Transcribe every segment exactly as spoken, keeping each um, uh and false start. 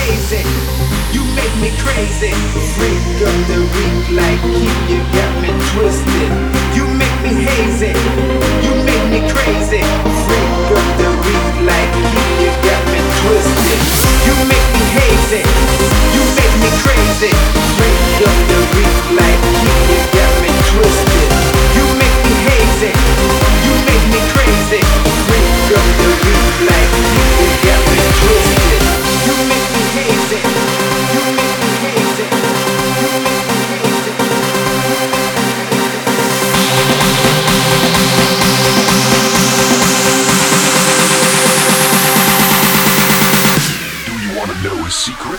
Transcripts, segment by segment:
hazy. You make me crazy. Freak of the week like Keith, you got me twisted. You make me hazy. You make me crazy. Freak of the week like Keith, you got me twisted. You make me hazy. You make me crazy. Freak of the week like Keith, you got me twisted. You make me hazy. You make me crazy. Freak of the week like Keith, you got me twisted. You make me hazy. You make me hazy. You make me hazy. Do you want to know a secret?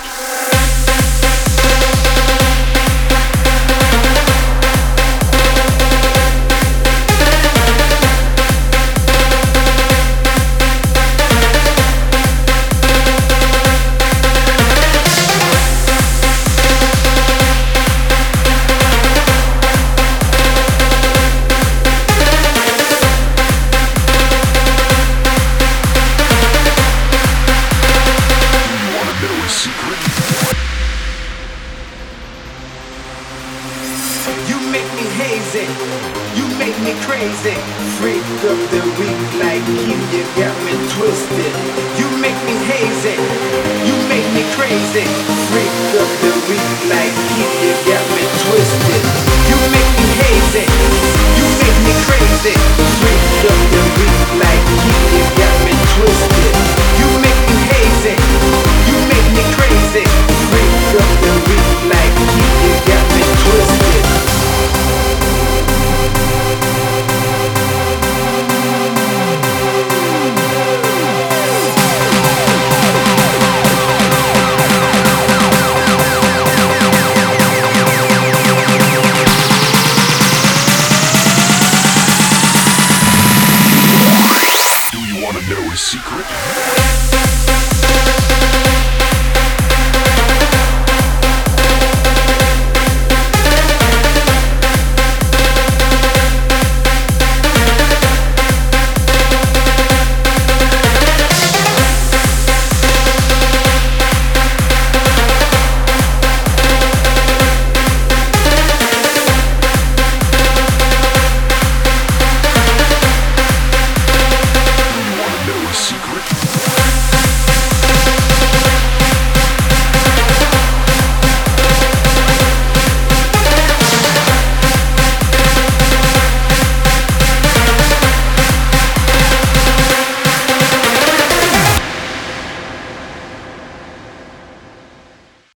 You make me hazy, you make me crazy. Freak of the week like you, you got me twisted. You make me hazy,